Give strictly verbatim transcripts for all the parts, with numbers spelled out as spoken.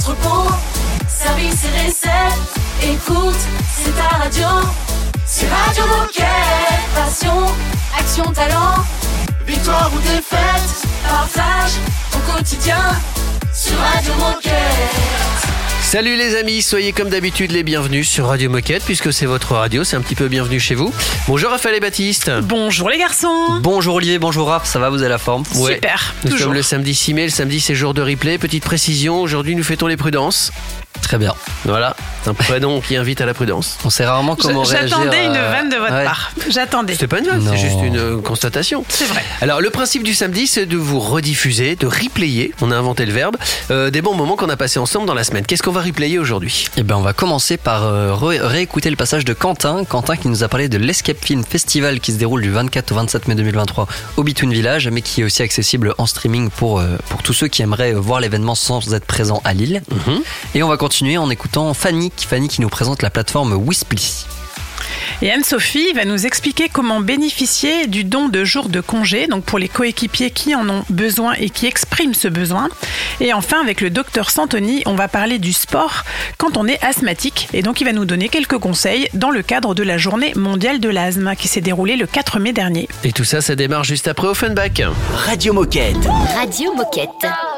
entrepôt, service et recettes. Écoute, c'est ta radio. C'est Radio Moquette. Passion, action, talent. Victoire ou défaite, partage au quotidien sur Radio Moquette. Salut les amis, soyez comme d'habitude les bienvenus sur Radio Moquette puisque c'est votre radio, c'est un petit peu bienvenue chez vous. Bonjour Raphaël et Baptiste. Bonjour les garçons. Bonjour Olivier, bonjour Raph, ça va, vous avez la forme? Ouais. Super, Nous toujours. sommes le samedi six mai, le samedi c'est jour de replay. Petite précision, aujourd'hui nous fêtons les prudences. Très bien. Voilà, c'est un prénom qui invite à la prudence. On sait rarement comment Je- réagir. J'attendais une à- vanne de votre Ouais. part. J'attendais. C'est pas une vanne, Non. c'est juste une euh, constatation. C'est vrai. Alors le principe du samedi c'est de vous rediffuser, de replayer, on a inventé le verbe, euh, des bons moments qu'on a passés ensemble dans la semaine. Qu'est-ce qu'on va replayer aujourd'hui? Eh ben, on va commencer par euh, ré- réécouter le passage de Quentin. Quentin qui nous a parlé de l'Escape Film Festival qui se déroule du vingt-quatre au vingt-sept mai deux mille vingt-trois au Between Village, mais qui est aussi accessible en streaming pour, euh, pour tous ceux qui aimeraient voir l'événement sans être présents à Lille. Mhm. Et on va continuer en écoutant Fanny, Fanny qui nous présente la plateforme Whisply. Et Anne-Sophie va nous expliquer comment bénéficier du don de jours de congé, donc pour les coéquipiers qui en ont besoin et qui expriment ce besoin. Et enfin, avec le docteur Santoni, on va parler du sport quand on est asthmatique. Et donc, il va nous donner quelques conseils dans le cadre de la journée mondiale de l'asthme qui s'est déroulée le quatre mai dernier. Et tout ça, ça démarre juste après Offenbach. Radio Moquette. Radio Moquette.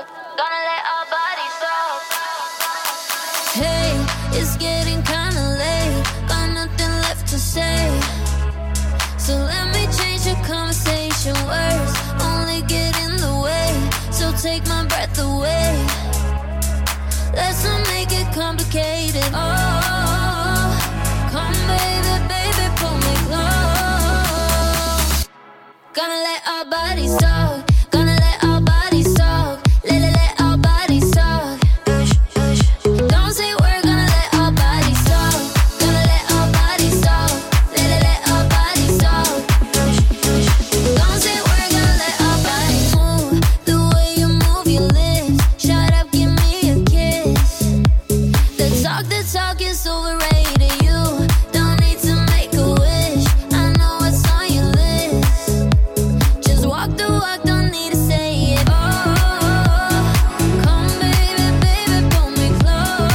Hey, it's getting kinda late, got nothing left to say. So let me change the conversation. Words only get in the way, so take my breath away. Let's not make it complicated. Oh, come baby, baby, pull me close. Gonna let our bodies talk, gonna let our bodies talk. Let, let, let our bodies talk. Don't say we're gonna let our bodies talk, gonna let our bodies talk. Let, let, let our bodies talk. Don't say we're gonna let our bodies move. The way you move your lips, shut up, give me a kiss. The talk, the talk is overrated. You don't need to make a wish. I know what's on your list. Just walk the walk, don't need to say it. Oh, come baby, baby, pull me close.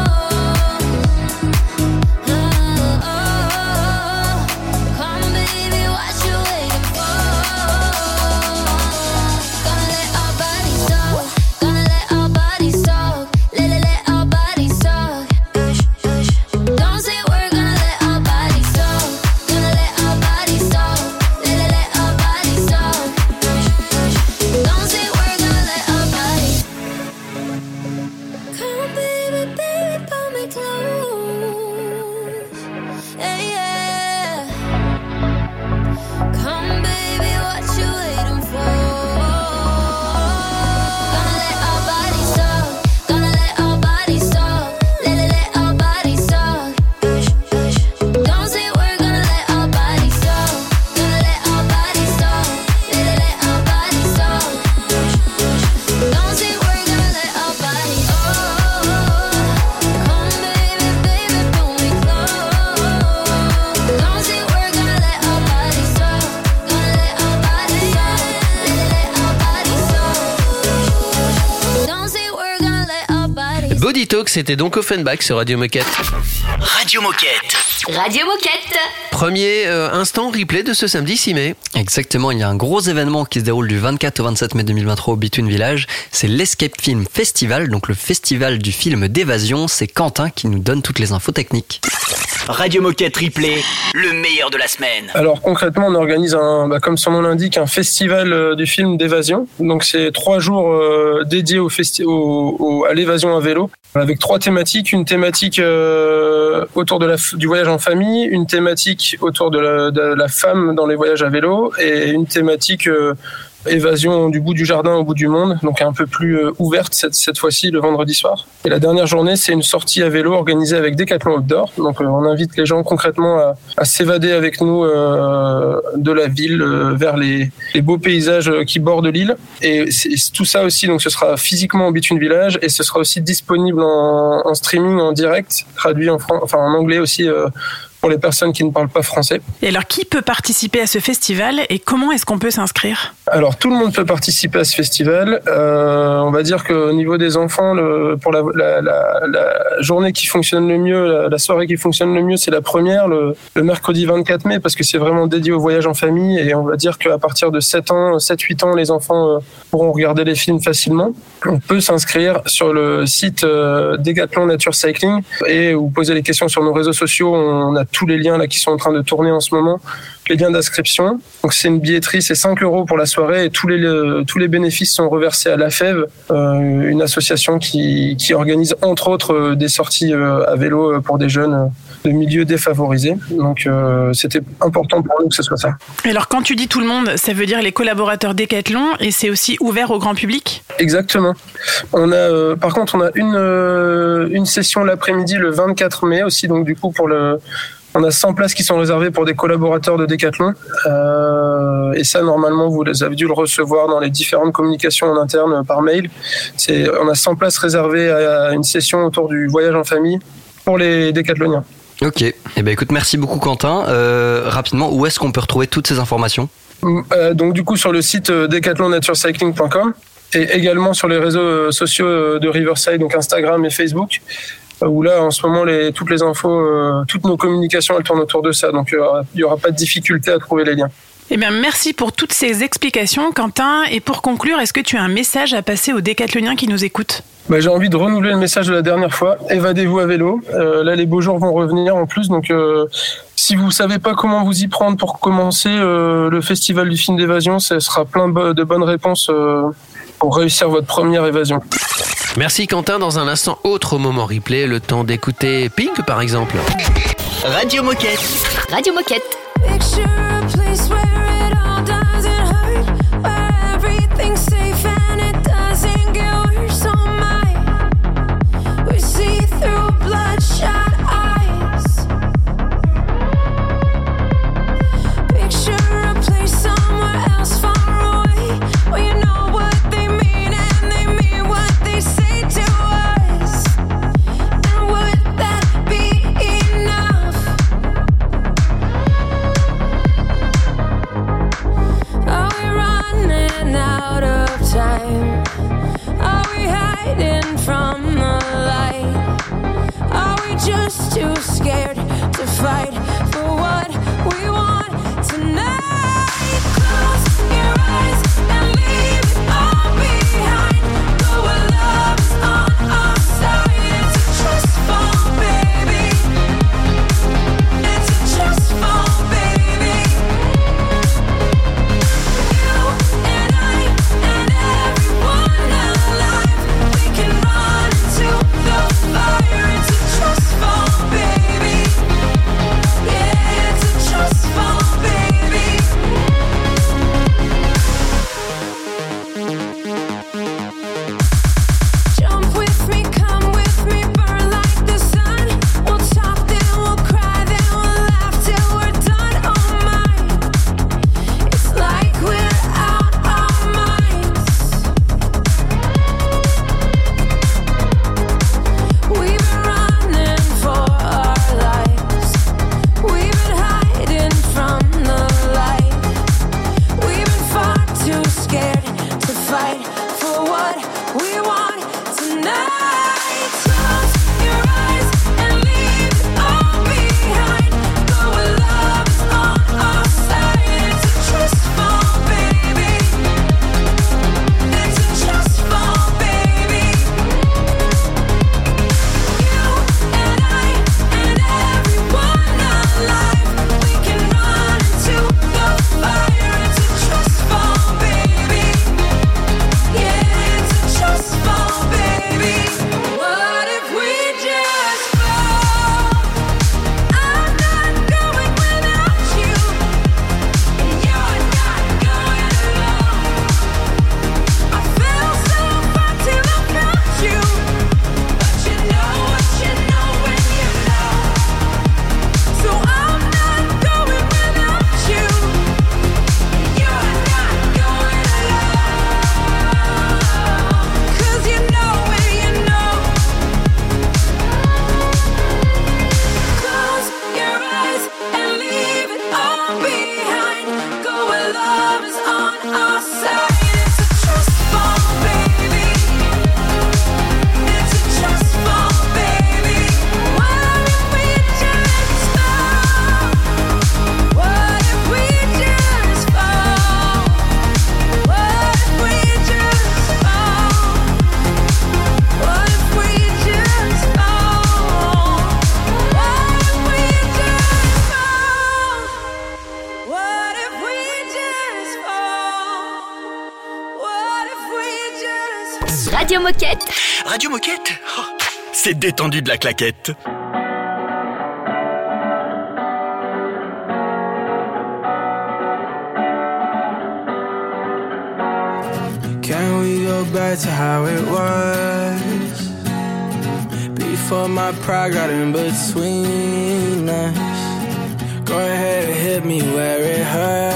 Oh, oh, come baby, what you waiting for? Gonna let our bodies talk, gonna let our bodies talk. Let, let, let our bodies talk. Don't say we're gonna let our bodies talk, gonna let our bodies talk. Let, let, let our bodies talk. Don't say we're gonna let our bodies. Come baby, baby, pull me close. Hey, yeah. Come baby, what you waiting for? Gonna let our bodies talk, gonna let our bodies talk. Let, let, let our bodies talk. Don't say we're gonna let our bodies talk, gonna let our bodies talk. Let, let, let our bodies talk. Don't say we're gonna let our bodies. Oh, come baby, baby, pull me close. Don't say we're gonna let our bodies talk, gonna let our bodies talk. Let, let, let our bodies talk. Don't say we're gonna let our bodies. Body Talk, c'était donc Offenbach sur Radio Moquette. Radio Moquette. Radio Moquette. Premier euh, instant replay de ce samedi six mai. Exactement, il y a un gros événement qui se déroule du vingt-quatre au vingt-sept mai deux mille vingt-trois au Between Village. C'est l'Escape Film Festival, donc le festival du film d'évasion. C'est Quentin qui nous donne toutes les infos techniques. Radio Moquette Replay, le meilleur de la semaine. Alors concrètement, on organise un, bah, comme son nom l'indique, un festival euh, du film d'évasion. Donc c'est trois jours euh, dédiés au festi- au, au, à l'évasion à vélo, avec trois thématiques. Une thématique euh, autour de la, du voyage en famille, une thématique autour de la, de la femme dans les voyages à vélo, et une thématique euh, évasion du bout du jardin au bout du monde, donc un peu plus euh, ouverte cette, cette fois-ci le vendredi soir. Et la dernière journée, c'est une sortie à vélo organisée avec Decathlon Outdoor. Donc euh, on invite les gens concrètement à, à s'évader avec nous euh, de la ville euh, vers les, les beaux paysages qui bordent l'île. Et c'est, tout ça aussi, donc ce sera physiquement au Between Village et ce sera aussi disponible en, en streaming, en direct, traduit en, fran- enfin, en anglais aussi euh, pour les personnes qui ne parlent pas français. Et alors, qui peut participer à ce festival et comment est-ce qu'on peut s'inscrire ? Alors tout le monde peut participer à ce festival. Euh, on va dire qu'au niveau des enfants, le, pour la, la, la, la journée qui fonctionne le mieux, la, la soirée qui fonctionne le mieux, c'est la première, le, le mercredi vingt-quatre mai, parce que c'est vraiment dédié au voyage en famille. Et on va dire qu'à partir de sept ans, sept huit ans, les enfants euh, pourront regarder les films facilement. On peut s'inscrire sur le site euh, Decathlon Nature Cycling et ou poser les questions sur nos réseaux sociaux. On a tous les liens là qui sont en train de tourner en ce moment. Les liens d'inscription. Donc c'est une billetterie, c'est cinq euros pour la soirée et tous les le, tous les bénéfices sont reversés à la F E V, euh, une association qui qui organise entre autres euh, des sorties euh, à vélo pour des jeunes euh, de milieux défavorisés. Donc euh, c'était important pour nous que ce soit ça. Et alors quand tu dis tout le monde, ça veut dire les collaborateurs Decathlon et c'est aussi ouvert au grand public ? Exactement. On a euh, par contre on a une euh, une session l'après-midi le vingt-quatre mai aussi, donc du coup pour le on a cent places qui sont réservées pour des collaborateurs de Decathlon. Euh, et ça, normalement, vous avez dû le recevoir dans les différentes communications en interne par mail. C'est, on a cent places réservées à une session autour du voyage en famille pour les décathloniens. Ok. Eh ben, écoute, merci beaucoup, Quentin. Euh, rapidement, où est-ce qu'on peut retrouver toutes ces informations ? euh, Donc, du coup, sur le site decathlon nature cycling point com et également sur les réseaux sociaux de Riverside, donc Instagram et Facebook, où là, en ce moment, les, toutes les infos, euh, toutes nos communications, elles tournent autour de ça. Donc, euh, il n'y aura pas de difficulté à trouver les liens. Eh bien, merci pour toutes ces explications, Quentin. Et pour conclure, est-ce que tu as un message à passer aux décathloniens qui nous écoutent ? Bah, j'ai envie de renouveler le message de la dernière fois. Évadez-vous à vélo. Euh, là, les beaux jours vont revenir en plus. Donc, euh, si vous savez pas comment vous y prendre pour commencer euh, le festival du film d'évasion, ce sera plein de bonnes réponses euh, pour réussir votre première évasion. Merci Quentin. Dans un instant, autre moment replay, le temps d'écouter Pink par exemple. Radio Moquette. Radio Moquette. Picture a place where it all doesn't hurt, where everything's safe and it doesn't get worse. Oh my, we see through bloodshot eyes. Picture a place somewhere else far away, where you know what they mean and they mean what they say to us. And would that be enough? Are we running out of time? Are we hiding from the light? Are we just too scared to fight for what we want tonight? Close your eyes and leave it all behind. Go where love is on our side. It's a trust fall, baby. It's a trust fall, baby. You and I and everyone alive, we can run into the fire. It's a trust fall, baby. Yeah, it's a trust fall, baby. Jump with me, come with me, burn like the sun. We'll talk, then we'll cry, then we'll laugh till we're done. Oh my, it's like we're out our minds. We've been running for our lives. We've been hiding from the light. We've been far too scared to fight for what we want tonight. Close your eyes and leave it all behind. Go where love is on our side. It's a trust fall, baby. It's a trust fall, baby. You and I and everyone alive, we can run into the fire. It's a trust fall, baby. Yeah, it's a trust fall, baby. What if we just fall? I'm not going without you, and you're not going alone. I fell so far till I found you, but you know what you know when you know. So I'm not going without you, and you're not going alone. 'Cause you know when you know. Close your eyes and leave it all behind. Go where love is on Radio Moquette. Radio Moquette, oh, c'est détendu de la claquette. Can we go back to how it was before my pride got in between us? Go ahead and hit me where it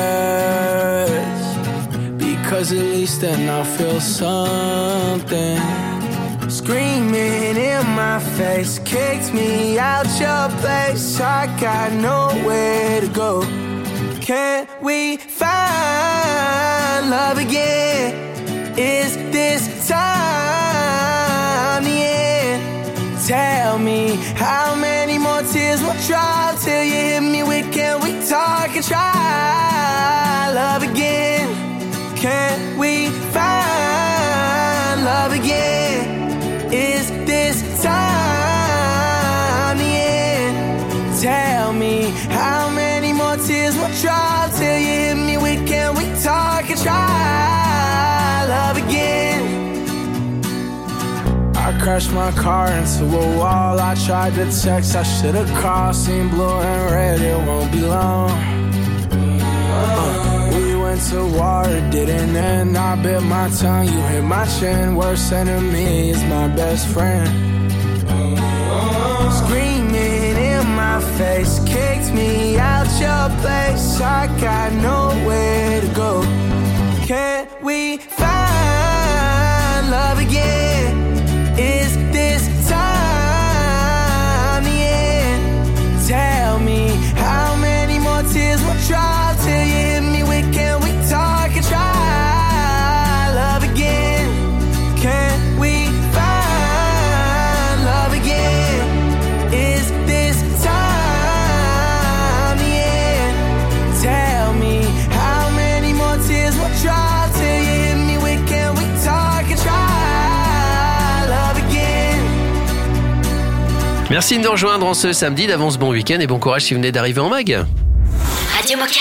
hurts, because at least then I'll feel something. Screaming in my face, kicked me out your place. I got nowhere to go. Can we find love again? Is this time the end? Tell me how many more tears will drop till you hit me with, can we talk and try love again? Can we find love again? Is this time the end? Tell me how many more tears will drop till you hit me with, can we talk and try love again? I crashed my car into a wall. I tried to text, I should've called. Seen blue and red, it won't be long. uh, We went to war, it didn't end. I bit my tongue, you hit my chin. Worst enemy is my best friend. Screaming in my face, kicked me out your place. I got nowhere to go. Can we find love again? Is this time the end? Tell me how many more tears will drop till you hit me with, can we talk and try love again? Can we find love again? Is this time the end? Tell me how many more tears will drop till you hit me with, can we talk and try love again? Merci de nous rejoindre en ce samedi. D'avance, bon week-end et bon courage si vous venez d'arriver en mag. Radio Moquette.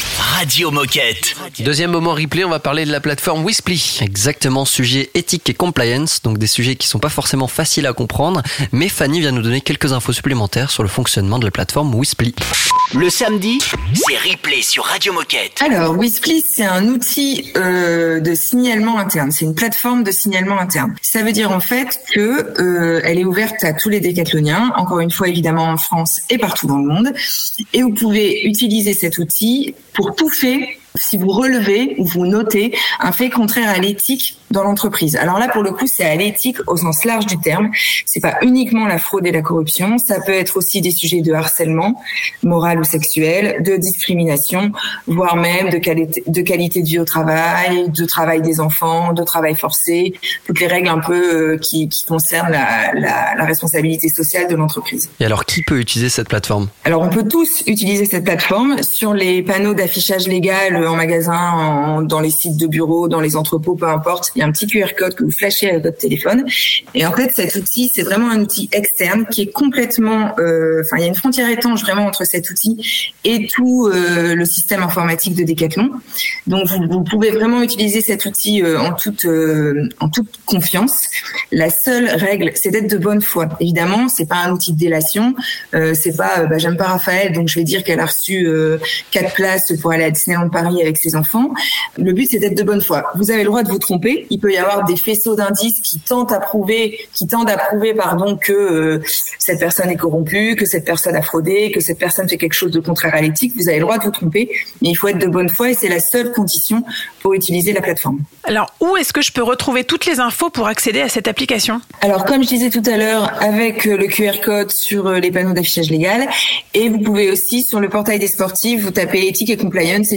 Radio Moquette. Deuxième moment replay, on va parler de la plateforme Whisply. Exactement, sujet éthique et compliance, donc des sujets qui sont pas forcément faciles à comprendre, mais Fanny vient nous donner quelques infos supplémentaires sur le fonctionnement de la plateforme Whisply. Le samedi, c'est replay sur Radio Moquette. Alors, Whisply, c'est un outil euh, de signalement interne. C'est une plateforme de signalement interne. Ça veut dire en fait que euh, elle est ouverte à tous les décathloniens, encore une fois évidemment en France et partout dans le monde. Et vous pouvez utiliser cet outil pour tout fait si vous relevez ou vous notez un fait contraire à l'éthique dans l'entreprise. Alors là, pour le coup, c'est à l'éthique au sens large du terme. C'est pas uniquement la fraude et la corruption. Ça peut être aussi des sujets de harcèlement, moral ou sexuel, de discrimination, voire même de qualité, de qualité de vie au travail, de travail des enfants, de travail forcé, toutes les règles un peu euh, qui, qui concernent la, la, la responsabilité sociale de l'entreprise. Et alors, qui peut utiliser cette plateforme ? Alors, on peut tous utiliser cette plateforme sur les panneaux d'affichage légal en magasin, en, dans les sites de bureaux, dans les entrepôts, peu importe. Il y a un petit Q R code que vous flashez avec votre téléphone. Et en fait, cet outil, c'est vraiment un outil externe qui est complètement... Euh, enfin, il y a une frontière étanche vraiment entre cet outil et tout euh, le système informatique de Decathlon. Donc, vous, vous pouvez vraiment utiliser cet outil euh, en toute euh, en toute confiance. La seule règle, c'est d'être de bonne foi. Évidemment, c'est pas un outil de délation. Euh, c'est pas, euh, bah, j'aime pas Raphaël, donc je vais dire qu'elle a reçu euh, quatre places pour aller à Disneyland Paris avec ses enfants. Le but, c'est d'être de bonne foi. Vous avez le droit de vous tromper. Il peut y avoir des faisceaux d'indices qui tentent à prouver, qui tendent à prouver, pardon, que euh, cette personne est corrompue, que cette personne a fraudé, que cette personne fait quelque chose de contraire à l'éthique. Vous avez le droit de vous tromper, mais il faut être de bonne foi et c'est la seule condition pour utiliser la plateforme. Alors, où est-ce que je peux retrouver toutes les infos pour accéder à cette application ? Alors, comme je disais tout à l'heure, avec le Q R code sur les panneaux d'affichage légal, et vous pouvez aussi, sur le portail des sportifs, vous tapez éthique et compliance, et puis vous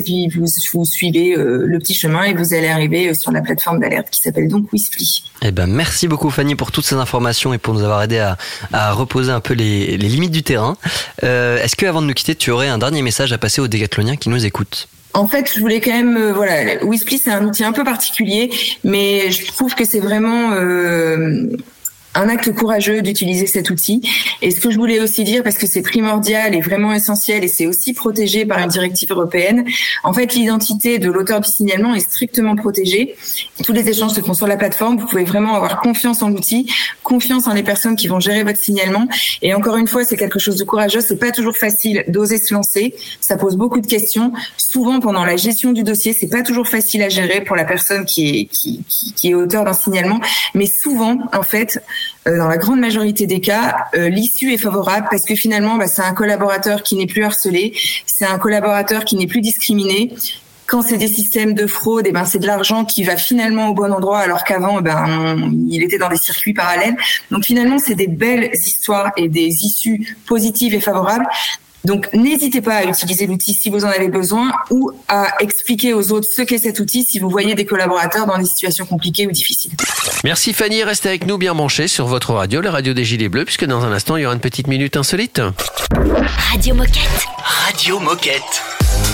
vous, vous suivez euh, le petit chemin et vous allez arriver sur la plateforme d'alerte qui s'appelle donc Whispli. Eh ben, merci beaucoup Fanny pour toutes ces informations et pour nous avoir aidé à, à reposer un peu les, les limites du terrain. Euh, est-ce que avant de nous quitter, tu aurais un dernier message à passer aux décathloniens qui nous écoutent? En fait, je voulais quand même, euh, voilà, Whispli c'est un outil un peu particulier, mais je trouve que c'est vraiment euh, un acte courageux d'utiliser cet outil. Et ce que je voulais aussi dire, parce que c'est primordial et vraiment essentiel, et c'est aussi protégé par une directive européenne, en fait, l'identité de l'auteur du signalement est strictement protégée. Tous les échanges se font sur la plateforme. Vous pouvez vraiment avoir confiance en l'outil, confiance en les personnes qui vont gérer votre signalement. Et encore une fois, c'est quelque chose de courageux. C'est pas toujours facile d'oser se lancer. Ça pose beaucoup de questions. Souvent, pendant la gestion du dossier, c'est pas toujours facile à gérer pour la personne qui est, qui, qui, qui est auteur d'un signalement. Mais souvent, en fait, Euh, dans la grande majorité des cas, euh, l'issue est favorable parce que finalement, bah, c'est un collaborateur qui n'est plus harcelé, c'est un collaborateur qui n'est plus discriminé. Quand c'est des systèmes de fraude, eh ben c'est de l'argent qui va finalement au bon endroit, alors qu'avant, eh ben on, il était dans des circuits parallèles. Donc finalement, c'est des belles histoires et des issues positives et favorables. Donc, n'hésitez pas à utiliser l'outil si vous en avez besoin ou à expliquer aux autres ce qu'est cet outil si vous voyez des collaborateurs dans des situations compliquées ou difficiles. Merci Fanny, restez avec nous bien branchés sur votre radio, la radio des Gilets Bleus, puisque dans un instant, il y aura une petite minute insolite. Radio Moquette. Radio Moquette.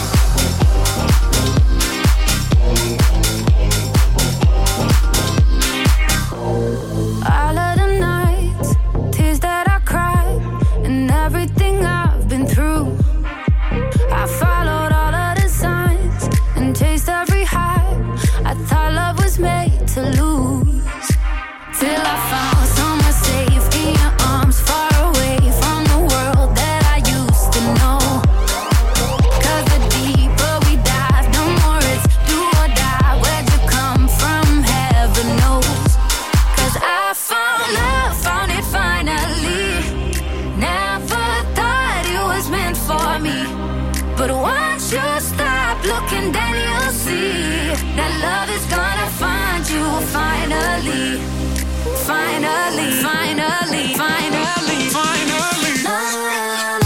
All of the nights, tears that I cried, and everything I've been through. I followed all of the signs and chased every high. I thought love was made to lose. Till I found somewhere safe in your arms, far away from the world that I used to know. 'Cause the deeper we dive, the more it's do or die. Where'd you come from? Heaven knows. 'Cause I found love, found it finally. Never thought it was meant for me. But once you stop looking, then you'll see that love is gonna find you finally. Finally, finally, finally, finally. La, la, la,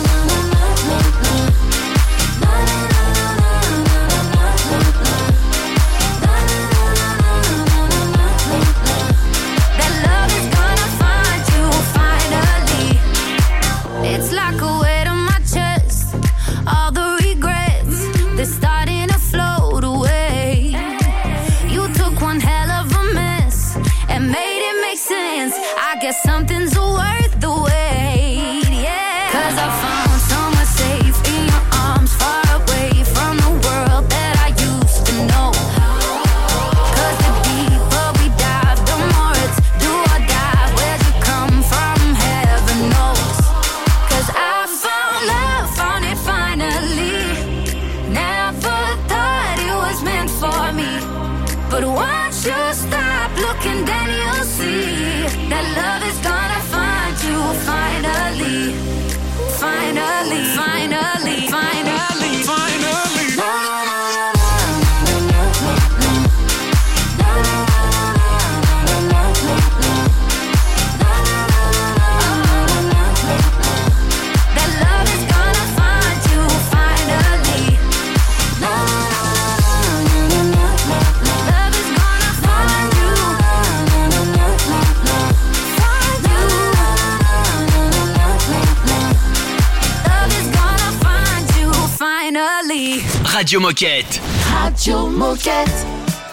that love is gonna find you finally. It's like a weight on my chest. All the regrets, they're starting to float away. You took one hell of a mess and made it make sense. I guess something's worth the wait, yeah. 'Cause I found somewhere safe in your arms, far away from the world that I used to know. 'Cause the deeper we dive, the more it's do or die. Where'd you come from? Heaven knows. 'Cause I found love, found it finally. Never thought it was meant for me. But once you stop looking, then you'll see that love is gonna find you finally. Finally, finally, finally, finally. La, la, la, that love is gonna find you finally. Love is gonna find you. Find you. Love is gonna find you finally. Radio Moquette. Radio Moquette.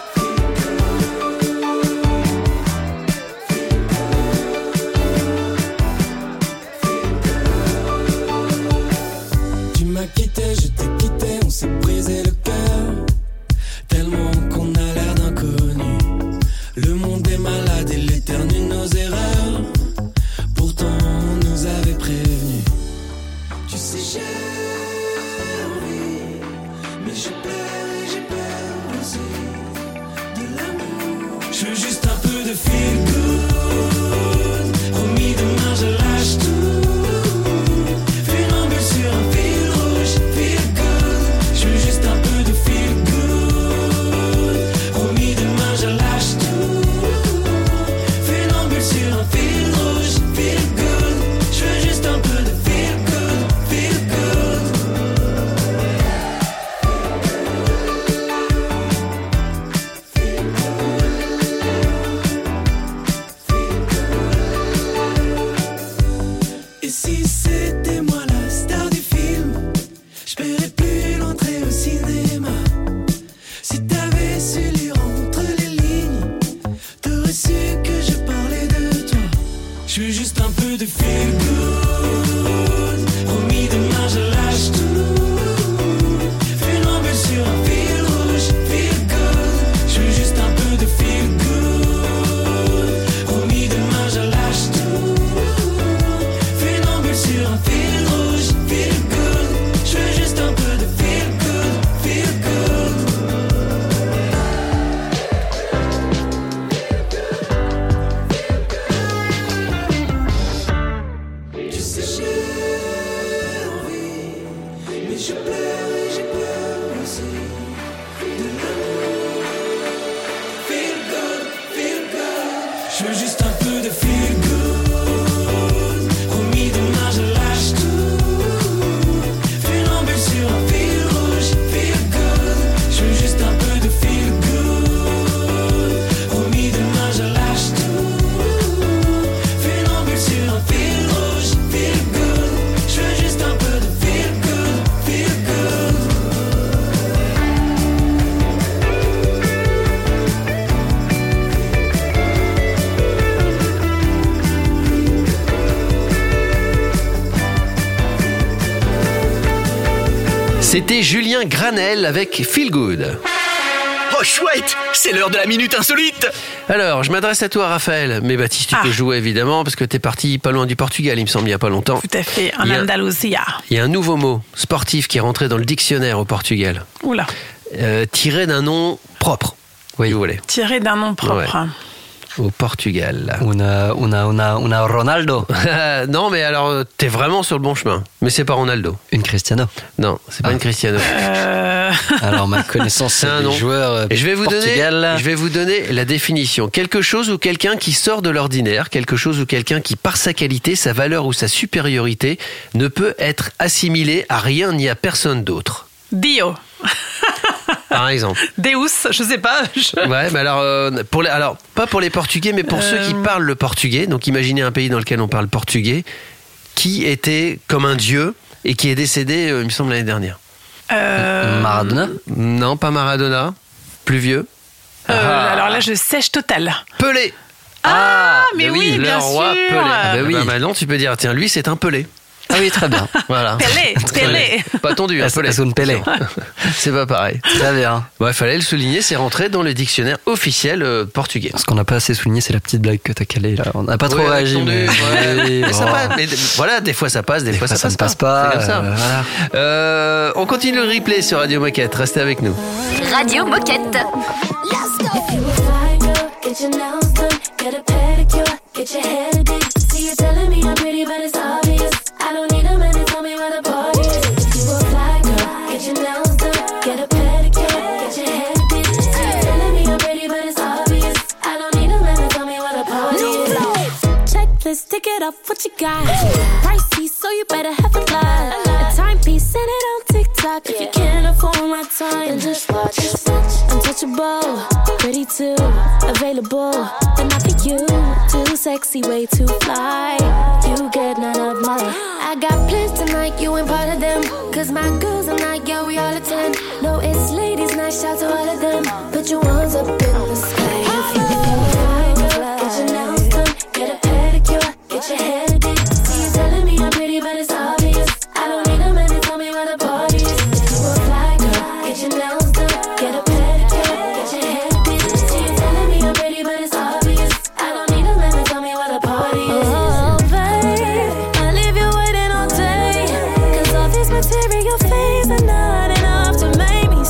Tu m'as quitté, je t'ai quitté, on s'est brisé le cœur. Tellement qu'on a l'air d'inconnu. Le monde est malade et l'éternue nos erreurs. Pourtant on nous avait prévenus. Tu sais j'ai envie, mais j'ai peur et j'ai peur aussi de l'amour. Je veux juste un peu de feel good. Promis demain je lâche tout. Funambule sur un fil rouge, feel good. Je veux juste un peu de feel good. Promis demain je lâche tout. Funambule sur un fil rouge, feel good. Je veux juste un peu de feel good, feel good. Je veux juste un peu de feel good. Promis demain je lâche tout. Funambule sur un fil rouge, feel good. Je veux juste un peu de feel good. Promis demain je lâche tout. Funambule sur un fil rouge, feel good. Je veux juste un peu de feel good, feel good. C'était Julien Granel avec Feel Good. Oh chouette, c'est l'heure de la minute insolite. Alors, je m'adresse à toi, Raphaël. Mais Baptiste, tu Ah. peux jouer évidemment parce que t'es parti pas loin du Portugal, il me semble, il y a pas longtemps. Tout à fait, en Il y a- Andalousia. Il y a un nouveau mot sportif qui est rentré dans le dictionnaire au Portugal, Oula, euh, tiré d'un nom propre. Oui, vous voulez. tiré d'un nom propre. Ouais. Au Portugal. Una, una, una, una Ronaldo. Non, mais alors, euh, t'es vraiment sur le bon chemin. Mais c'est pas Ronaldo. Une Cristiano. Non, c'est pas Ah. une Cristiano. Euh, Alors, ma connaissance C'est un des nom. joueurs euh, Et je vais vous donner, Portugal. je vais vous donner la définition. Quelque chose ou quelqu'un qui sort de l'ordinaire, quelque chose ou quelqu'un qui, par sa qualité, sa valeur ou sa supériorité, ne peut être assimilé à rien ni à personne d'autre. Dio. Par exemple. Deus, je sais pas. je- Ouais, mais alors, euh, pour les, alors, pas pour les Portugais, mais pour ceux qui Euh. parlent le portugais. Donc, imaginez un pays dans lequel on parle portugais, qui était comme un dieu et qui est décédé, euh, il me semble, l'année dernière. Euh, Maradona. Non, pas Maradona. Plus vieux. euh, Ah. alors là, je sèche total. Pelé. Ah, mais Ben oui, le bien roi sûr. Pelé. Ah, Ben oui. oui. Maintenant, tu peux dire, tiens, lui, c'est un Pelé. Ah oui, très bien. Voilà. Pelé, Pelé. Pas tendu, un Es- Pelé. es un Pelé. C'est pas pareil. Très bien. Bon, il fallait le souligner, c'est rentré dans le dictionnaire officiel euh, portugais. Ce qu'on n'a pas assez souligné, c'est la petite blague que t'as calée là. On n'a pas trop Ouais, réagi. attendu, Mais... ouais. Oui, Mais ça bon. passe, mais voilà, des fois ça passe, des, fois, ça, ça passe ne passe pas, C'est comme ça. euh, voilà. Euh, on continue le replay sur Radio Moquette. Restez avec nous. Radio Moquette. Let's go. If you a fly girl, get your nails done, get a pedicure, get your hair did. See you telling me I'm pretty, but it's obvious. I don't need a man to tell me where the party is. If you a fly girl, get your nails done, get a pedicure, get your hair did. See you telling me I'm pretty, but it's obvious. I don't need a man to tell me where the party is. Checklist, tick it off, what you got? Pricey, so you better have a lot. A timepiece, send it on TikTok. If you can't afford my time, then just watch. Just watch. Untouchable, pretty too, available. Then I pick you, too sexy, way too fly. You get none of mine. I got plans tonight, you ain't part of them. Cause my girls are not, yeah, we all attend. No, it's ladies' night, shout to all of them. Put your ones up in the sky. If you fly, fly. Get your nails done, get a pedicure, get your hair did. See you telling me I'm pretty, but it's obvious. I don't need a man to tell me where the party is. If you a fly girl, get your nails done, get a pedicure, get your hair did. See you telling me I'm pretty, but it's obvious. I don't need a man to tell me where the party is. Oh, babe, I leave you waiting all day. Cause all this material things are not enough to make me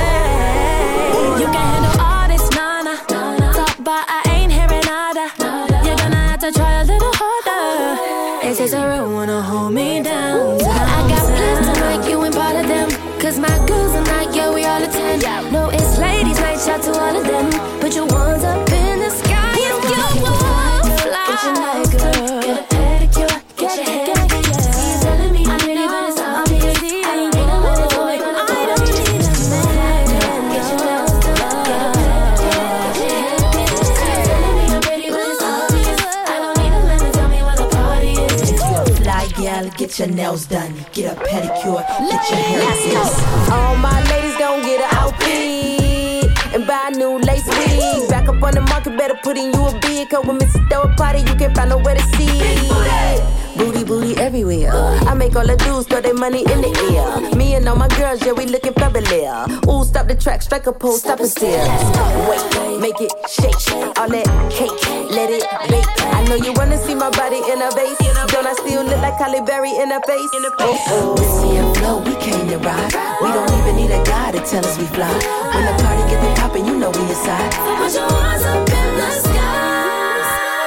stay. You can handle all this, nana. Talk but I ain't hearing nada. You're gonna have to try a little harder. It takes a real one to hold me down. I got plans tonight, you ain't part of them. Cause my girls are not, yeah, we all attend. No, it's ladies' night, shout to all of them. Put your ones up in the sky if you want fly. Get your night, girl. Get a pedicure, get your hair. You're telling me I'm pretty, but it's obvious. I don't need a man to tell me when I'm I don't need a man. Get your nails done, get a pedicure, get your hair. You're telling me I'm pretty, but it's obvious. I don't need a man to tell me where the party is. If you're a fly gal, get your nails done, get a pedicure, get your hair fixed. All my ladies gon' get an outfit and buy a new lace wig. Back up on the market, better put in you a bid. Cause when Missus throw a party, you can't find nowhere to see. Booty, booty everywhere. I make all the dudes throw their money in the air. Me and all my girls, yeah, we looking fabulous. Ooh, stop the track, strike a pose, stop and stare. Wait, make it shake, all that cake, let it bake. I know you wanna see my body in a vase. Don't I still look like Halle Berry in a face? Oh, oh. Whiskey and flow, we came to ride. We don't even need a guy to tell us we fly. When the party get the poppin', you know we inside. Put your hands up in the sky.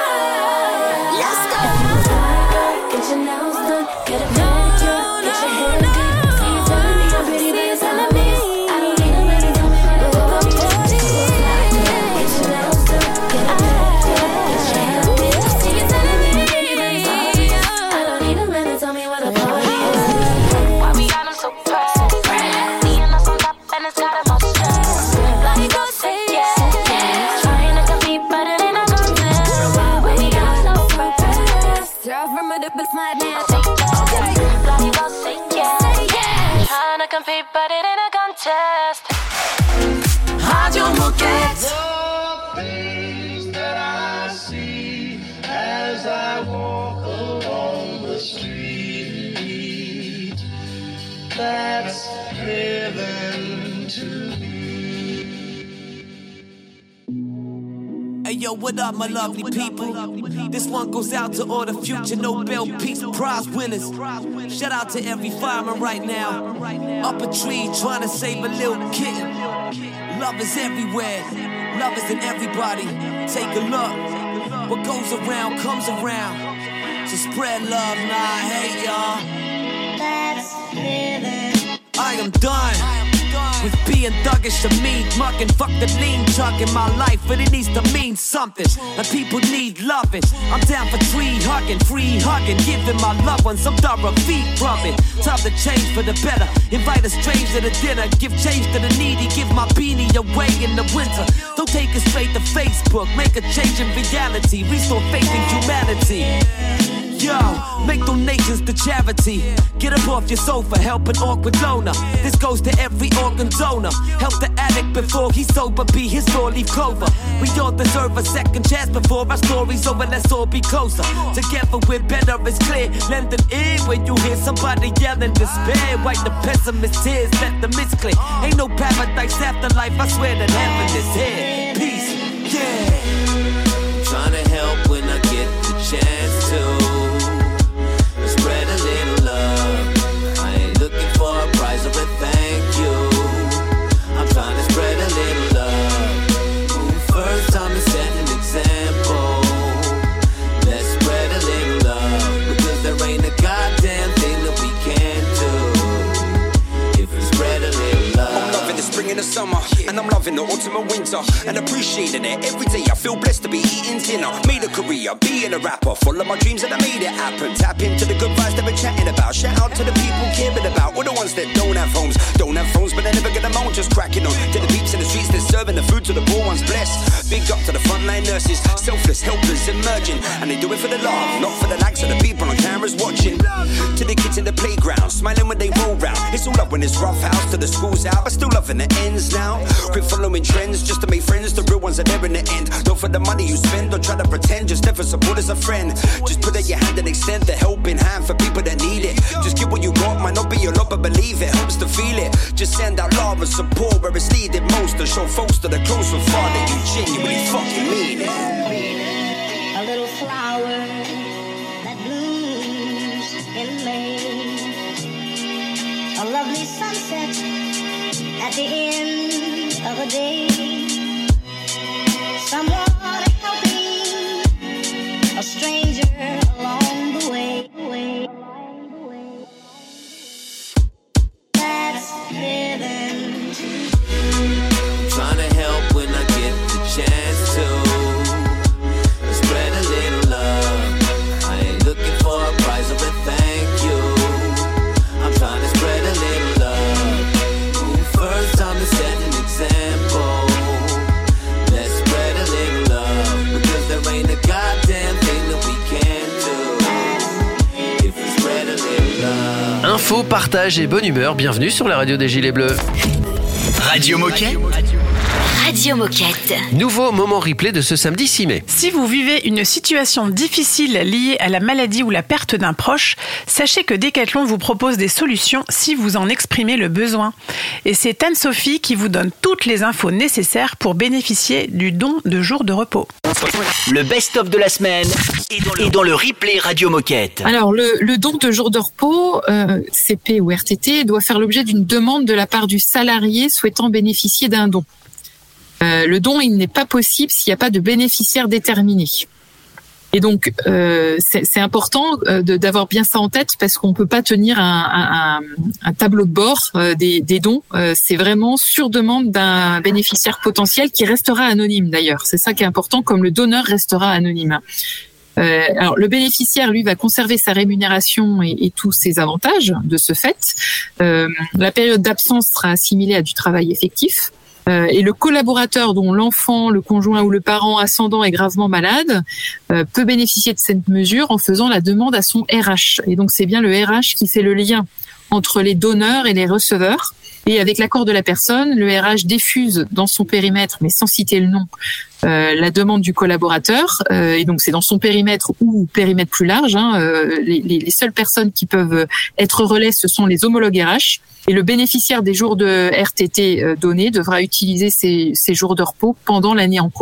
Let's go. Get your nails done, get a pedicure, get your hair did. See you telling me I'm pretty, but it's obvious. I don't need a man to tell me where the party is. Get your nails done, get a pedicure, get your yo, what up, my lovely people? This one goes out to all the future Nobel Peace Prize winners. Shout out to every fireman right now. Up a tree trying to save a little kitten. Love is everywhere. Love is in everybody. Take a look. What goes around comes around. So spread love, nah, hate y'all. That's living. I am done with being thuggish to me, mucking, fuck the lean chuck in my life, but it needs to mean something. And people need loving. I'm down for tree hugging, free hugging, giving my loved ones some thorough feet rubbing. Time to change for the better. Invite a stranger to dinner, give change to the needy, give my beanie away in the winter. Don't take it straight to Facebook, make a change in reality, restore faith in humanity. Yo, make donations to charity. Get up off your sofa, help an awkward loner. This goes to every organ donor. Help the addict before he's sober, be his four-leaf clover. We all deserve a second chance before our story's over, let's all be closer. Together we're better, it's clear. Lend an ear when you hear somebody yelling despair. Wipe the pessimist tears, let the mist clear. Ain't no paradise after life, I swear that heaven is here. Peace, yeah. Trying to help when I get the chance to. Spread a little love. I ain't looking for a prize or a thank you. I'm trying to spread a little love. Ooh, first time to set an example. Let's spread a little love, because there ain't a goddamn thing that we can't do if we spread a little love. I'm loving the spring and the summer, and I'm loving the autumn and winter, and appreciating it every day. I feel blessed to be eating dinner. Made a career, being a rapper, follow my dreams and I made it happen. Tap into the good vibes that we're chatting about. Shout out to the people caring about all the ones that don't have homes, don't have phones, but they never get them on. Just cracking on to the peeps in the streets, they're serving the food to the poor ones. Blessed, big up to the frontline nurses, selfless, helpless, emerging, and they do it for the love, not for the likes of the people on cameras watching. To the kids in the playground, smiling when they roll round. It's all up when it's rough house. To the schools out, but still loving the ends now. Quit following trends just to make friends. The real ones are there in the end. Don't for the money you spend, don't try to pretend. Just never support as a friend. Just put out your hand and extend the helping hand for people that need it. Just give what you got, might not be your lot, but believe it helps to feel it. Just send out love and support where it's needed most, to show folks that are close and far that you genuinely fucking mean it. A little flower that blooms in May. A lovely sunset at the end of a day. Someone helping a stranger along the way. That's living. Trying to help when I get the chance to. Spread a little love. I ain't looking for a prize or a thank you. I'm trying to spread a little love. Ooh, first time to set an example. Let's spread a little love, because there ain't a goddamn thing that we can't do if we spread a little love. Info, partage et bonne humeur, bienvenue sur la radio des Gilets Bleus. Radio Moquette. Radio Moquette. Nouveau moment replay de ce samedi six mai. Si vous vivez une situation difficile liée à la maladie ou la perte d'un proche, sachez que Decathlon vous propose des solutions si vous en exprimez le besoin. Et c'est Anne-Sophie qui vous donne toutes les infos nécessaires pour bénéficier du don de jours de repos. Le best-of de la semaine est dans le replay Radio Moquette. Alors, le, le don de jours de repos, euh, C P ou R T T, doit faire l'objet d'une demande de la part du salarié souhaitant bénéficier d'un don. Euh, le don, il n'est pas possible s'il n'y a pas de bénéficiaire déterminé. Et donc, euh, c'est, c'est important euh, de, d'avoir bien ça en tête, parce qu'on peut pas tenir un, un, un tableau de bord euh, des, des dons. Euh, c'est vraiment sur demande d'un bénéficiaire potentiel qui restera anonyme d'ailleurs. C'est ça qui est important, comme le donneur restera anonyme. Euh, alors, le bénéficiaire, lui, va conserver sa rémunération et, et tous ses avantages de ce fait. Euh, la période d'absence sera assimilée à du travail effectif. Euh, et le collaborateur dont l'enfant, le conjoint ou le parent ascendant est gravement malade euh, peut bénéficier de cette mesure en faisant la demande à son R H. Et donc, c'est bien le R H qui fait le lien entre les donneurs et les receveurs. Et avec l'accord de la personne, le R H diffuse dans son périmètre, mais sans citer le nom, euh, la demande du collaborateur. Euh, et donc, c'est dans son périmètre ou périmètre plus large. Hein, euh, les, les seules personnes qui peuvent être relais, ce sont les homologues R H. Et le bénéficiaire des jours de R T T donnés devra utiliser ces, ces jours de repos pendant l'année en cours.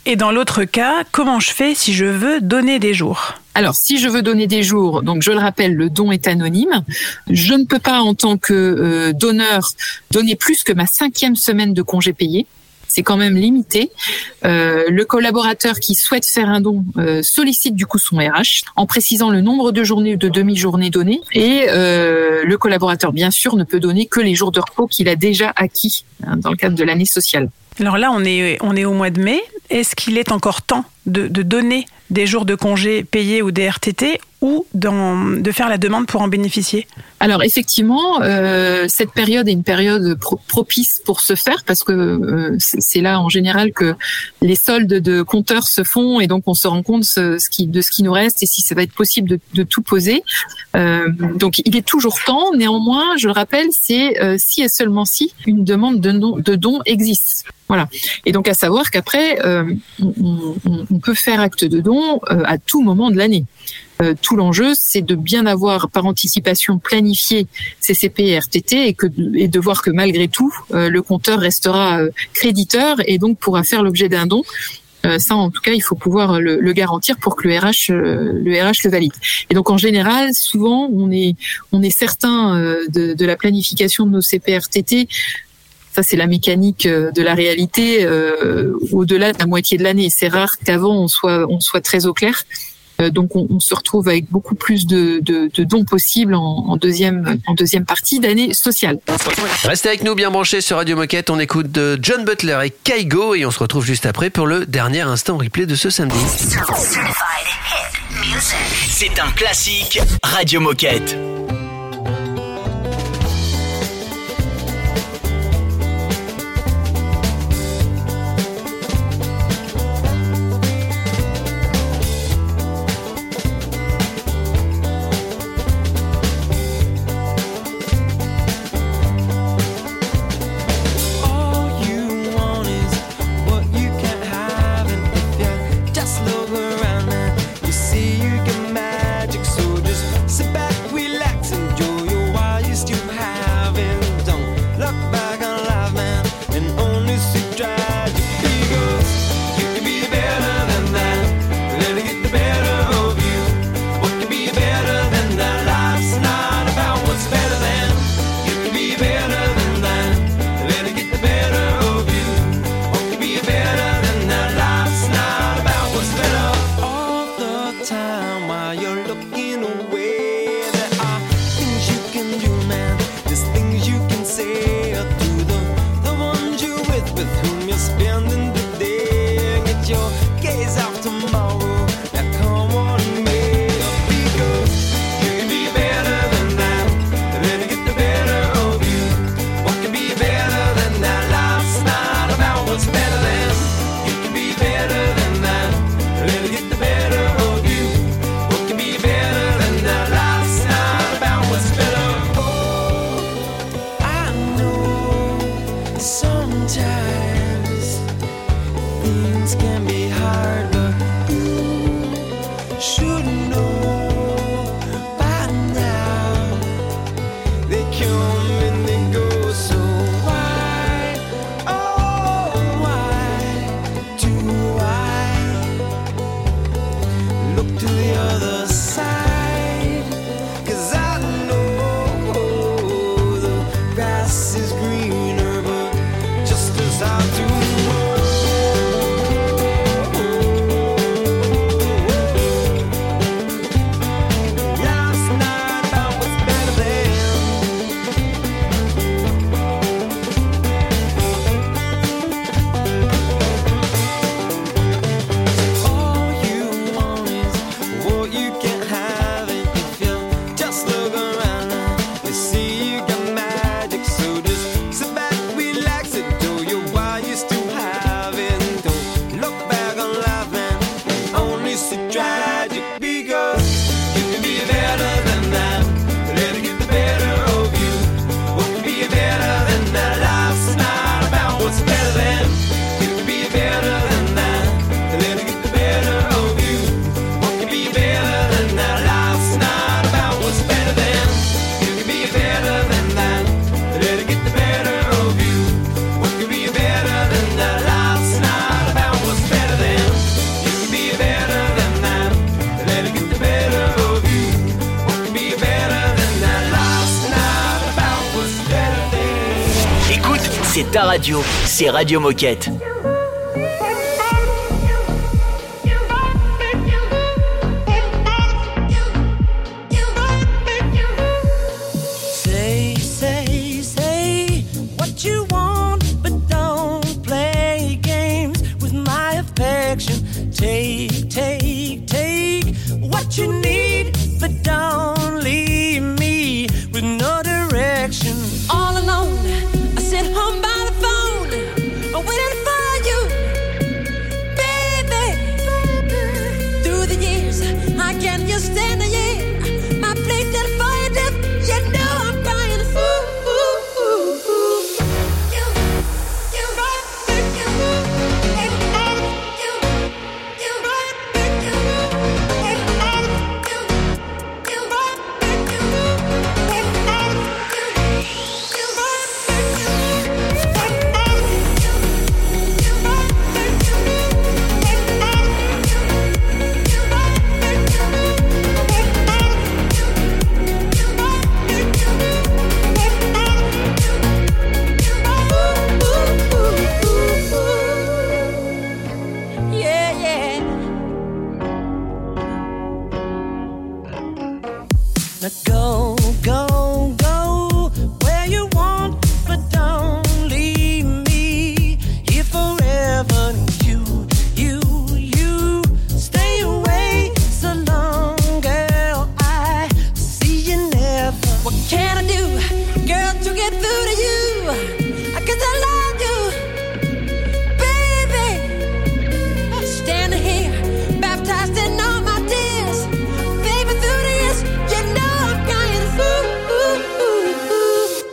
Et dans l'autre cas, comment je fais si je veux donner des jours ? Alors, si je veux donner des jours, donc je le rappelle, le don est anonyme. Je ne peux pas, en tant que euh, donneur, donner plus que ma cinquième semaine de congé payé. C'est quand même limité. Euh, le collaborateur qui souhaite faire un don euh, sollicite du coup son R H en précisant le nombre de journées ou de demi-journées données. Et euh, le collaborateur, bien sûr, ne peut donner que les jours de repos qu'il a déjà acquis hein, dans le cadre de l'année sociale. Alors là, on est, on est au mois de mai. Est-ce qu'il est encore temps de, de donner des jours de congé payés ou des R T T ou dans, de faire la demande pour en bénéficier ? Alors effectivement, euh, cette période est une période pro- propice pour se faire parce que euh, c'est, c'est là en général que les soldes de compteurs se font et donc on se rend compte ce, ce qui, de ce qui nous reste et si ça va être possible de, de tout poser. Euh, donc il est toujours temps. Néanmoins, je le rappelle, c'est euh, si et seulement si une demande de, non, de don existe. Voilà. Et donc à savoir qu'après, euh, on, on, on peut faire acte de don euh, à tout moment de l'année. Euh, tout l'enjeu, c'est de bien avoir par anticipation planifié C C P et R T T et, que, et de voir que malgré tout, euh, le compteur restera euh, créditeur et donc pourra faire l'objet d'un don. Euh, ça, en tout cas, il faut pouvoir le, le garantir pour que le R H, euh, le R H le valide. Et donc, en général, souvent, on est, on est certain euh, de, de la planification de nos C P R T T. Ça, c'est la mécanique de la réalité euh, au-delà de la moitié de l'année. C'est rare qu'avant, on soit, on soit très au clair. Euh, donc, on, on se retrouve avec beaucoup plus de, de, de dons possibles en, en, deuxième, en deuxième partie d'année sociale. Restez avec nous bien branchés sur Radio Moquette. On écoute de John Butler et Kygo et on se retrouve juste après pour le dernier instant replay de ce samedi. C'est un classique Radio Moquette. ta radio, c'est Radio Moquette. Say, say, say what you want, but don't play games with my affection. Take, take, take what you need, but don't leave me with no direction. All alone, I sit home by the phone, I'm waiting for you, baby. Through the years, I can't just stand a year. My place that fire dip, you know I'm crying. Ooh, ooh, ooh, ooh. You, you, you, yeah, yeah. Now go, go, go where you want, but don't leave me here forever. You, you, you stay away so long, girl. I see you never. What can I do, girl, to get through to you? 'Cause I love you, baby. Standing here, baptized in all my tears, baby. Through the years, you know I'm crying. Ooh, ooh, ooh, ooh.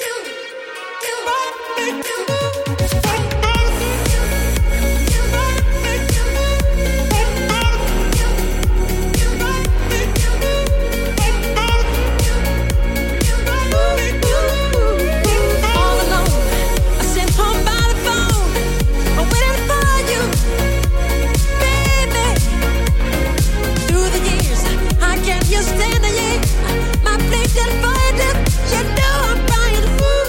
All alone, I sit home by the phone, I'm waiting for you, baby. Through the years, I can't just stand a year. My place is fire, you know I'm crying.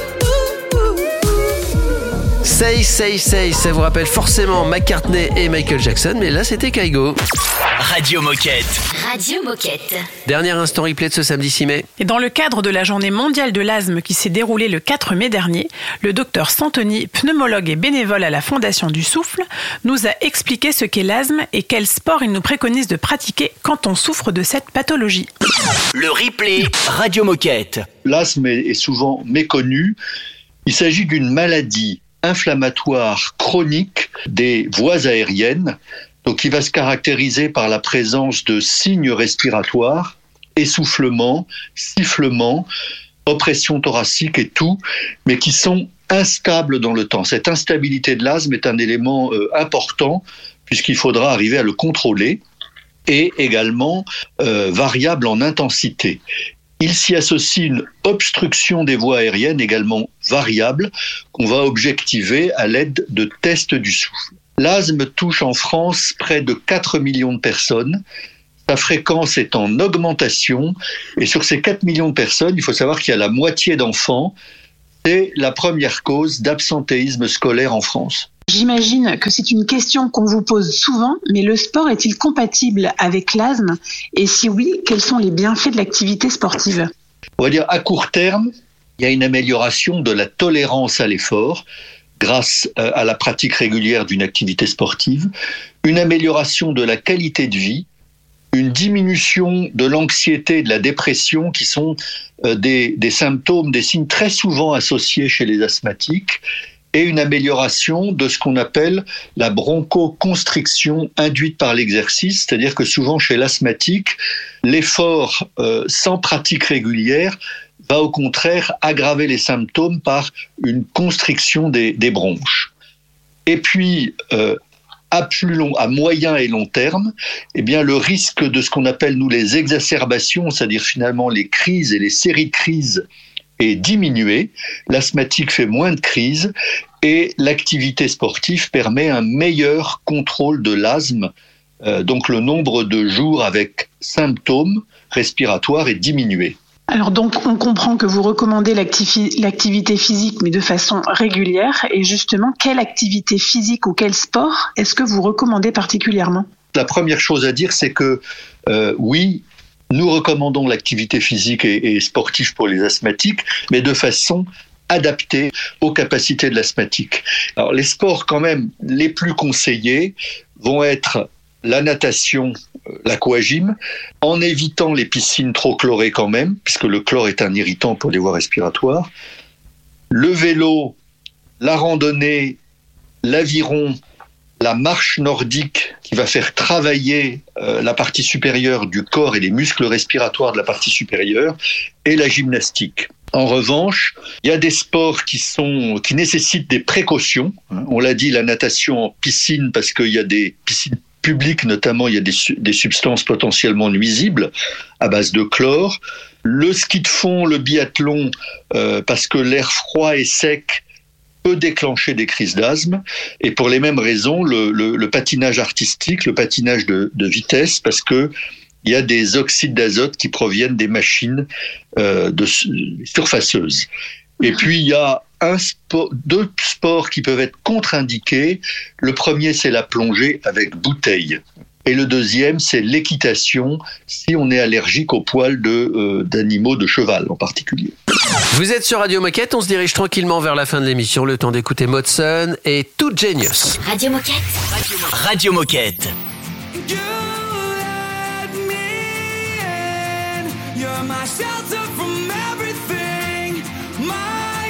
Ooh, ooh, ooh, ooh. Say, say, say, ça vous rappelle forcément McCartney et Michael Jackson, mais là c'était Kygo. Radio Moquette. Radio Moquette. Dernier instant replay de ce samedi six mai. Et dans le cadre de la journée mondiale de l'asthme qui s'est déroulée le quatre mai dernier, le docteur Santoni, pneumologue et bénévole à la Fondation du Souffle, nous a expliqué ce qu'est l'asthme et quel sport il nous préconise de pratiquer quand on souffre de cette pathologie. Le replay Radio Moquette. L'asthme est est souvent méconnu. Il s'agit d'une maladie inflammatoire chronique des voies aériennes, donc qui va se caractériser par la présence de signes respiratoires, essoufflement, sifflement, oppression thoracique et tout, mais qui sont instables dans le temps. Cette instabilité de l'asthme est un élément euh, important puisqu'il faudra arriver à le contrôler et également euh, variable en intensité. Il s'y associe une obstruction des voies aériennes également variable qu'on va objectiver à l'aide de tests du souffle. L'asthme touche en France près de quatre millions de personnes. Sa fréquence est en augmentation et sur ces quatre millions de personnes, il faut savoir qu'il y a la moitié d'enfants. C'est la première cause d'absentéisme scolaire en France. J'imagine que c'est une question qu'on vous pose souvent, mais le sport est-il compatible avec l'asthme? Et si oui, quels sont les bienfaits de l'activité sportive? On va dire à court terme, il y a une amélioration de la tolérance à l'effort grâce à la pratique régulière d'une activité sportive, une amélioration de la qualité de vie, une diminution de l'anxiété et de la dépression qui sont des, des symptômes, des signes très souvent associés chez les asthmatiques, et une amélioration de ce qu'on appelle la bronchoconstriction induite par l'exercice, c'est-à-dire que souvent chez l'asthmatique, l'effort euh, sans pratique régulière va au contraire aggraver les symptômes par une constriction des, des bronches. Et puis, euh, à plus long, à moyen et long terme, eh bien, le risque de ce qu'on appelle nous les exacerbations, c'est-à-dire finalement les crises et les séries de crises, est diminué, l'asthmatique fait moins de crises et l'activité sportive permet un meilleur contrôle de l'asthme. Euh, donc le nombre de jours avec symptômes respiratoires est diminué. Alors donc, on comprend que vous recommandez l'activi- l'activité physique, mais de façon régulière. Et justement, quelle activité physique ou quel sport est-ce que vous recommandez particulièrement ? La première chose à dire, c'est que euh, oui, nous recommandons l'activité physique et, et sportive pour les asthmatiques, mais de façon adaptée aux capacités de l'asthmatique. Alors les sports quand même les plus conseillés vont être la natation, l'aquagym, en évitant les piscines trop chlorées quand même, puisque le chlore est un irritant pour les voies respiratoires. Le vélo, la randonnée, l'aviron, la marche nordique qui va faire travailler euh, la partie supérieure du corps et les muscles respiratoires de la partie supérieure, et la gymnastique. En revanche, il y a des sports qui sont qui nécessitent des précautions. On l'a dit, la natation en piscine, parce qu'il y a des piscines publiques notamment, il y a des, des substances potentiellement nuisibles à base de chlore. Le ski de fond, le biathlon, euh, parce que l'air froid et sec peut déclencher des crises d'asthme. Et pour les mêmes raisons, le, le, le patinage artistique, le patinage de, de vitesse, parce que il y a des oxydes d'azote qui proviennent des machines euh, de surfaceuses. Et puis, il y a un sport, deux sports qui peuvent être contre-indiqués. Le premier, c'est la plongée avec bouteille. Et le deuxième, c'est l'équitation, si on est allergique aux poils de, euh, d'animaux, de cheval en particulier. Vous êtes sur Radio Moquette, on se dirige tranquillement vers la fin de l'émission. Le temps d'écouter Modson et Too Genius. Radio Moquette. Radio Moquette. You're my shelter from everything, my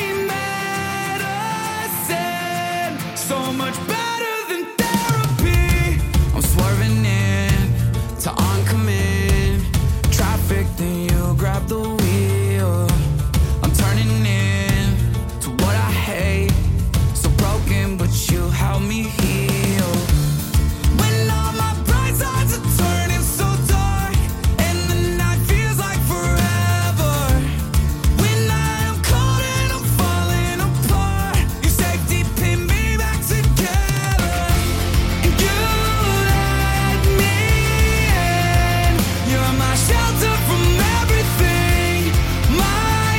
medicine, so much better than therapy. I'm swerving in to oncoming traffic, then you grab the wheel. I'm turning in to what I hate, so broken, but you help me heal. When all my bright sides are turning so dark, and the night feels like forever. When I am cold and I'm falling apart, your safety pin me back together. And you let me in. You're my shelter from everything, my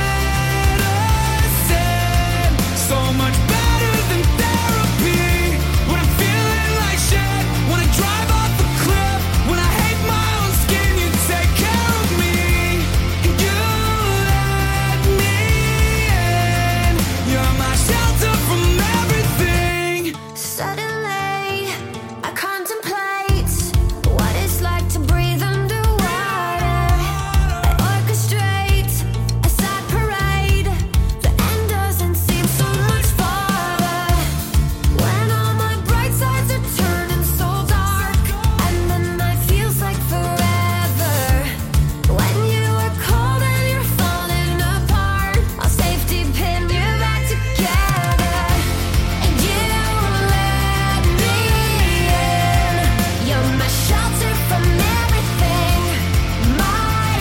medicine, so much better than therapy. When I'm feeling like shit, when I drive off the cliff, when I hate my own skin, you take care of me. And you let me in. You're my shelter from everything. Suddenly, I contemplate what it's like to breathe underwater. I orchestrate a sad parade. The end doesn't seem so much farther. When all my bright sides are turning so dark, and the night feels like forever. When you are cold and you're falling apart, I'll safety pin you back together. And you let me in. You're my shelter from everything, my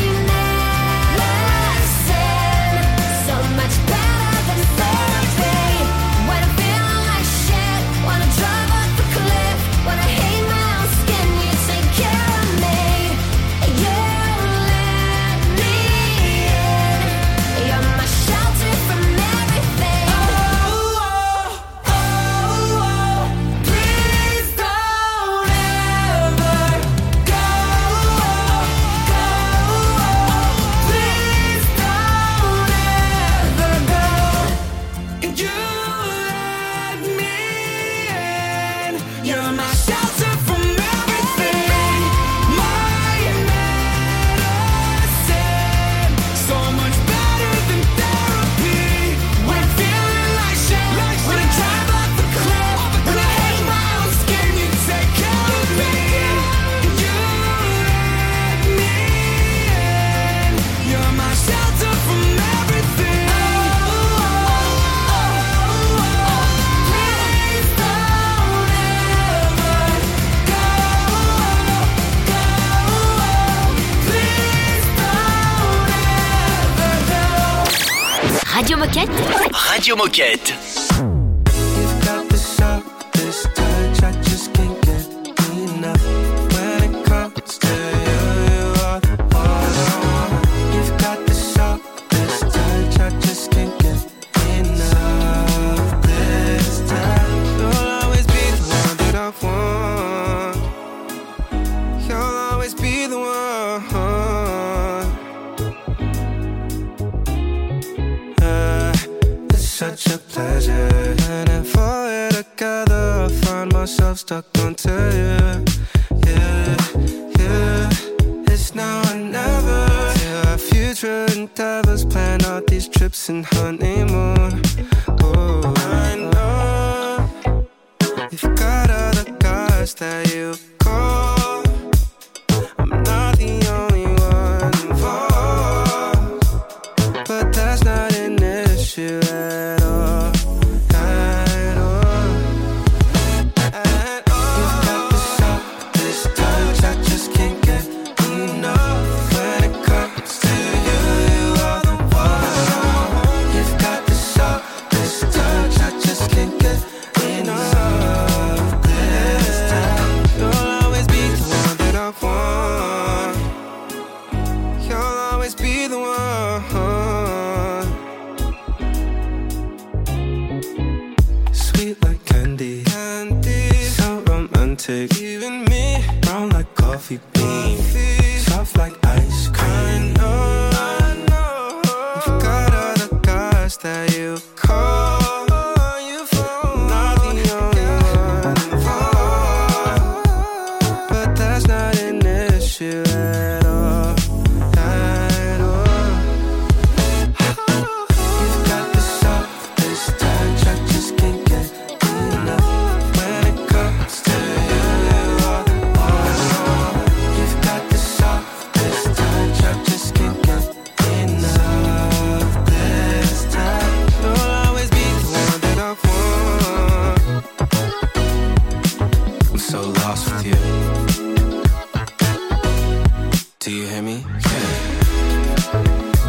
medicine, so much better than therapy. When I'm feeling like shit, when I drive off the cliff, when I hate my own skin, you take care of me. And you let me in. You're my shelter from everything. Oh, oh, oh, oh, please don't ever go, go, please don't ever go. And you let me in. You're my shelter from everything, my medicine, so much better than therapy. When I'm feeling like shit, when I drive off the cliff, when I hate my own skin, you take care of me. And you let me in. You're my shelter from everything. Oh, oh, oh, oh, please don't ever go, go, please don't ever go. Radio Moquette. Radio Moquette. You've got the sharpest touch, I just can't get enough. When it comes to you, you are all I want. You've got the stuck onto you. Yeah, yeah. It's now or never. Yeah, our future endeavors plan out these trips and honeymoon. Oh, I know you've got other guys that you call. I'm not the only one involved, but that's not an issue at all. At all. At all. You've got the soft, this touch I just can't get enough. When it comes to you, you are the one. You've got the soft, this touch I just can't get enough. This time, you'll always be the one that I want. You'll always be the one. Sweet like candy, candy, so romantic. Even me, brown like coffee beans, soft like ice cream. I know, I know. You've got other guys that you call. You phone, not the only one involved, but that's not an issue at all. At all. You've got the softest touch I just can't get enough. When it comes to you, you are the one. You've got the softest touch I just can't get enough. This time, you'll always be the one that I want. I'm so lost with you. Do you hear me? Yeah.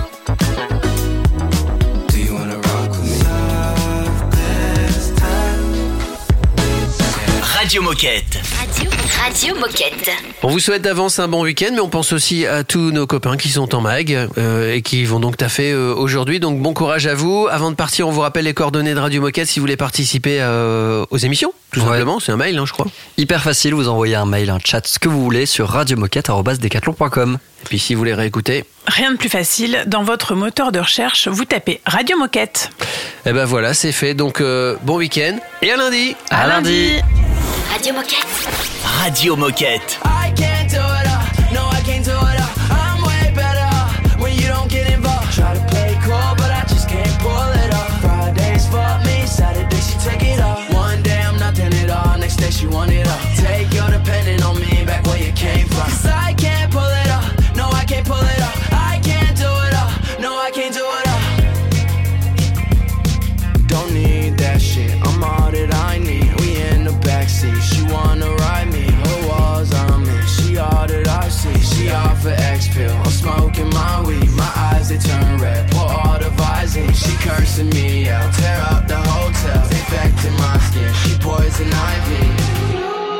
Do you wanna rock with me? This time. Radio Moquette. Radio, Radio Moquette. On vous souhaite d'avance un bon week-end, mais on pense aussi à tous nos copains qui sont en mag euh, et qui vont donc taffer euh, aujourd'hui. Donc bon courage à vous. Avant de partir, on vous rappelle les coordonnées de Radio Moquette si vous voulez participer euh, aux émissions. Tout Ouais. simplement, c'est un mail, hein, je crois. Hyper facile, vous envoyez un mail, un chat, ce que vous voulez sur radiomoquette arobase decathlon point com. Et puis si vous voulez réécouter, Rien de plus facile, dans votre moteur de recherche, vous tapez Radio Moquette. eh ben voilà, c'est fait. Donc euh, bon week-end et à lundi. À lundi. Radio Moquette. Radio Moquette. I can't do it all, no I can't do it all. I'm way better when you don't get involved. Try to play cool but I just can't pull it off. Fridays for me, Saturday she took it off. One day I'm nothing at all, next day she want it all. Take your depending on me back where you came from. Cause I can't pull it off, no I can't pull it off. I can't do it all, no I can't do it all. Don't need that shit, I'm all that I need. We in the backseat, she wanna ride me. Her walls on me, she all that I see. She off an X-pill, I'm smoking my weed. My eyes they turn red, pour all the Visine. She cursing me out, tear up the hotel. Infecting my skin, she poison ivy.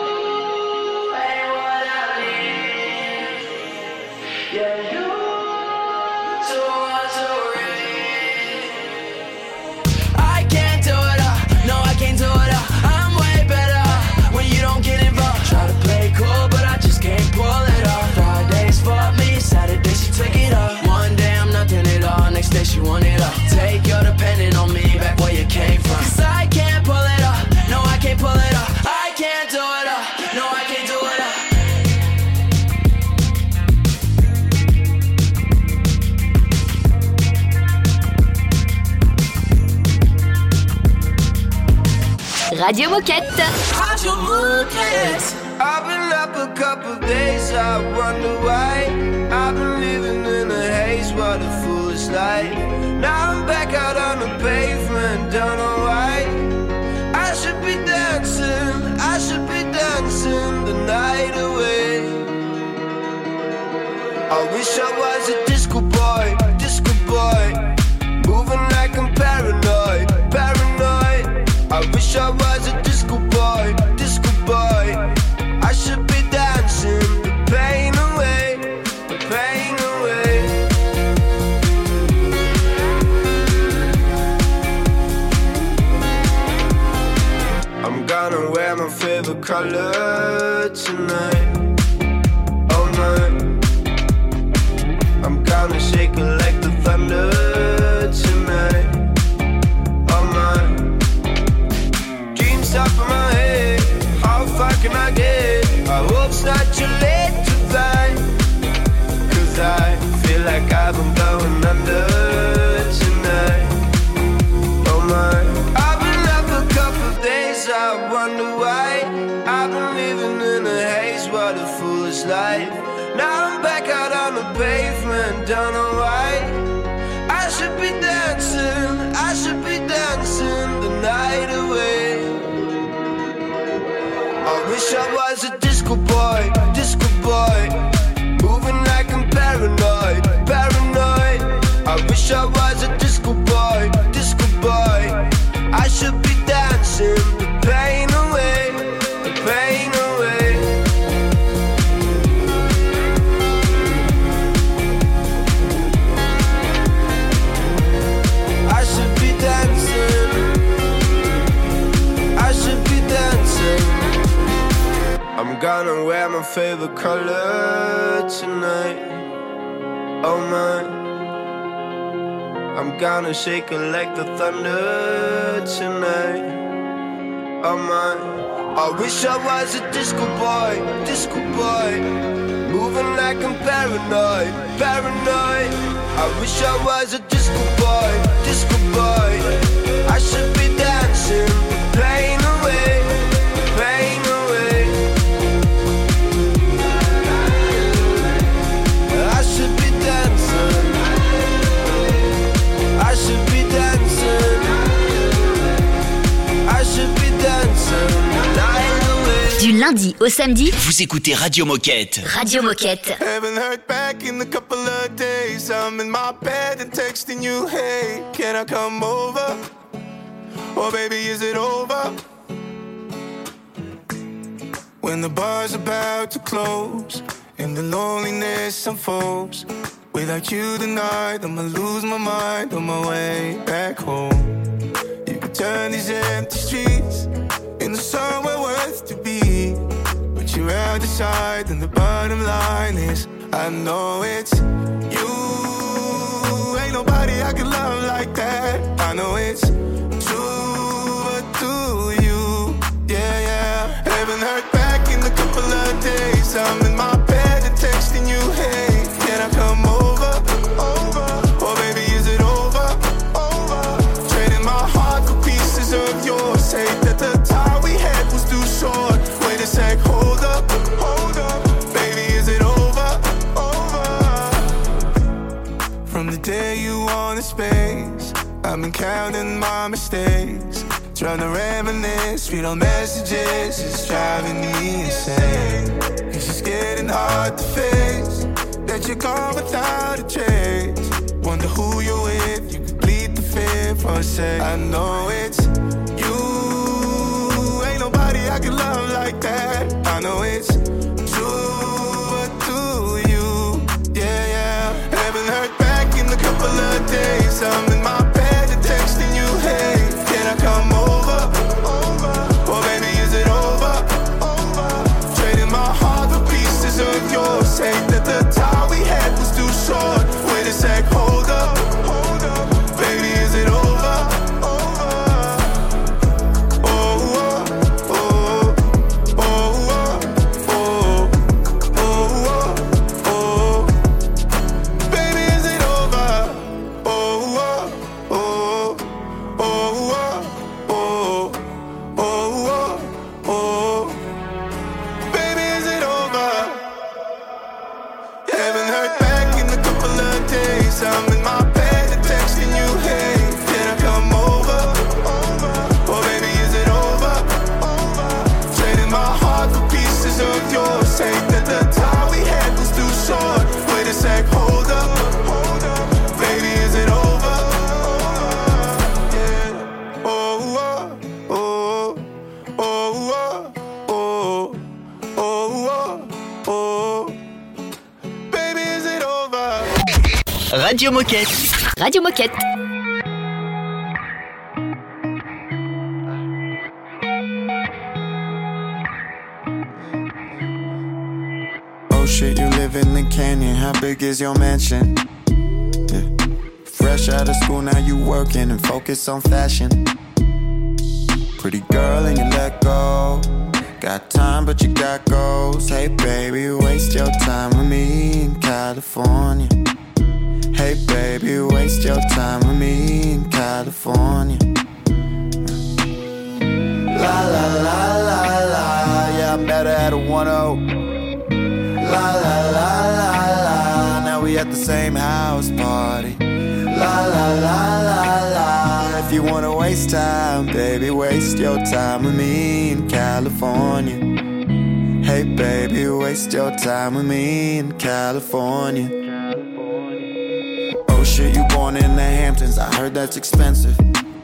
I can't do it all, no I can't do it all. I'm way better when you don't get involved. Try to play cool but I just can't pull it off. Fridays for me, Saturday she took it off. One day I'm nothing at all, next day she want it all. Take your depending on me back where you came from. Cause I can't pull it off, no I can't pull it off. I can't do it all, no I can't do it all. Radio Moquette. Radio Moquette. I've been up a couple days, I wonder why. I've been living in a haze, what a foolish life. Now I'm back out on the pavement, don't know why. I should be dancing, I should be dancing the night away. I wish I was a disco boy, disco boy. Moving like I'm paranoid, paranoid. I wish I was a disco boy, disco boy. I should be dancing the pain away, the pain away. I'm gonna wear my favorite color tonight, all night. I'm gonna shake it like the thunder tonight, all night. Dreams top of my head, I'll fight can I get? I hope it's not too late to find. Cause I feel like I've been going under tonight. Oh my, I've been up a couple of days, I wonder why. I've been living in a haze, what a foolish life. Now I'm back out on the pavement, don't know why. I should be dancing, I should be dancing the night away. I wish I was a disco boy, disco boy, moving like I'm paranoid, paranoid. I wish I was a disco boy, disco boy. I should be dancing the pain away, the pain away. I should be dancing, I should be dancing. I'm gonna wear my favorite color tonight. Oh my, I'm gonna shake it like the thunder tonight. Oh my, I wish I was a disco boy, disco boy, moving like I'm paranoid, paranoid. I wish I was a disco boy, disco boy. I should be dancing, pain away, pain away. I should be dancing, I should be dancing, I should be dancing night away. Du lundi au samedi, Vous écoutez Radio Moquette. Radio Moquette. Haven't heard back in a couple of days. I'm in my bed and texting you, hey, can I come over? Oh baby, is it over? When the bar's about to close and the loneliness unfolds, without you tonight, I'ma lose my mind on my way back home. You could turn these empty streets into somewhere worth to be, but you're out decide, and the bottom line is I know it's you. Ain't nobody I can love like that. I know it's true, but do you? Yeah, yeah. Haven't heard back in a couple of days. I'm in my bed and texting you, hey, can I come over? Over. Oh baby, is it over? Over. Trading my heart for pieces of yours. Say that the time we had was too short. Wait a sec, hold up, hold up. Baby, is it over? Over. From the day you wanted space, I've been counting my mistakes, trying to reminisce, read all messages, it's driving me insane. It's just getting hard to face that you're gone without a trace. Wonder who you're with, you could bleed the fear for a sec. I know it's you, ain't nobody I can love like that. I know it's true, but do you? Yeah, yeah. Haven't heard back in a couple of days. I'm in my bed and texting you, hey, can I come over? Over. Oh baby, is it over? Over. Trading my heart for pieces of yours. Say that the time we had was too short. Wait a sec, hold up, hold up. Baby, is it over? Over. Oh, oh, oh, oh, oh, oh, oh, oh. Baby, is it over? Oh, oh, oh, oh, oh, oh, oh, oh. Baby, is it over? Haven't heard back in a couple of days. I'm in my bed and texting you, hey, can I come over? Over. Oh baby, is it over? Over. Trading my heart for pieces of yours. Say that the time we had was too short. Wait a sec, hold up, hold up. Baby, is it over? Yeah. Oh, oh, oh, oh, oh, oh, oh, oh. Baby, is it over? Radio Moquette. Radio Moquette. Oh shit, you live in the canyon. How big is your mansion? Yeah. Fresh out of school, now you working and focus on fashion. Pretty girl and you let go. Got time, but but you got goals. Hey baby, waste your time with me in California. Hey baby, waste your time with me in California. La la la la la, yeah, I met her at a one oh. La la la la la, now we at the same house party. La la la la la, if you wanna waste time, baby, waste your time with me in California. Hey baby, waste your time with me in California. Oh shit, you born in the Hamptons, I heard that's expensive.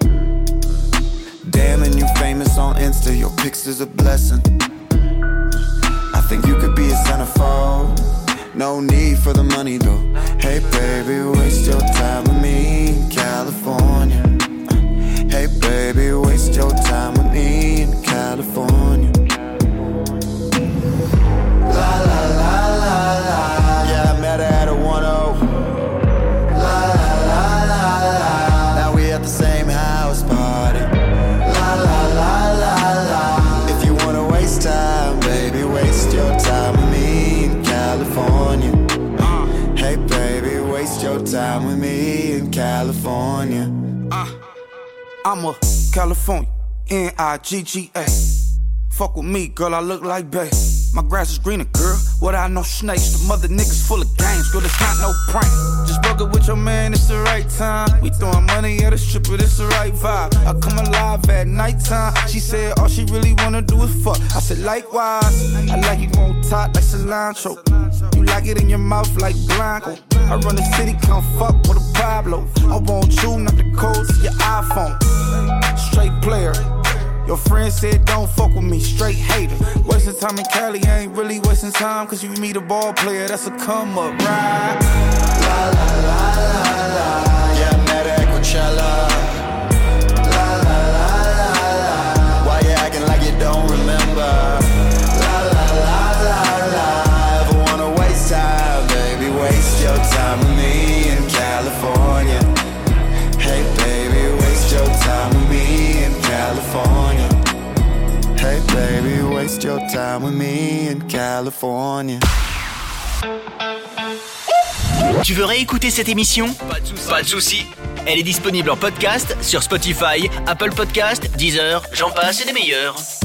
Damn, and you famous on Insta, your pics is a blessing. I think you could be a centerfold, no need for the money though. Hey baby, waste your time with me in California. Hey baby, waste your time with me in California. La la la la la, yeah, I met her at a one oh. La la la la la, now we at the same house party. La la la la la, if you wanna waste time, baby, waste your time with me in California. Hey baby, waste your time with me in California. Uh, I'm a California, N I G G A. Fuck with me, girl, I look like bae. My grass is greener, girl, what I know snakes. The mother niggas full of games, girl, it's not no prank. Just broke it with your man, it's the right time. We throwing money at a stripper, it's the right vibe. I come alive at nighttime. She said all she really wanna do is fuck. I said likewise, I like you on top like cilantro. You like it in your mouth like Blanco. I run the city, come fuck with a Pablo. I want you, not the code to your iPhone. Straight player. Your friend said don't fuck with me, straight hater. Wasting time in Cali, I ain't really wasting time. Cause you meet a ball player, that's a come up, right? La la la la la, yeah, I met her at Coachella. La la la la la, why you acting like you don't remember? La la la la la, ever wanna waste time, baby, waste your time with me in California. Hey baby, waste your time with me in California. Hey baby, waste your time with me in California. Tu veux réécouter cette émission ? Pas de souci. Elle est disponible en podcast sur Spotify, Apple Podcast, Deezer, j'en passe et des meilleurs.